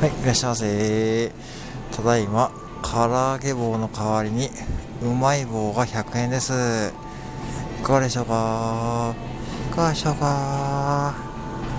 はい、いらっしゃいませ。ただいま、唐揚げ棒の代わりに、うまい棒が100円です。いかがでしょうか。いかがでしょうか。